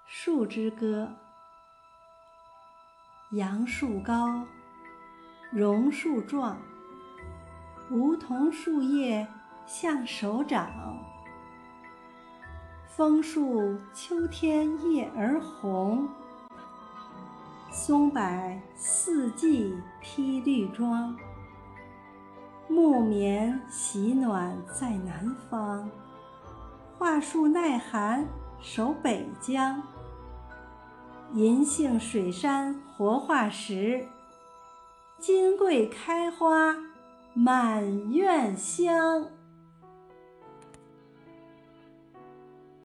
树之歌。杨树高，榕树壮，梧桐树叶像手掌。枫树秋天叶儿红，松柏四季披绿装。木棉喜暖在南方，桦树耐寒守北疆。银杏水杉活化石，金桂开花满院香。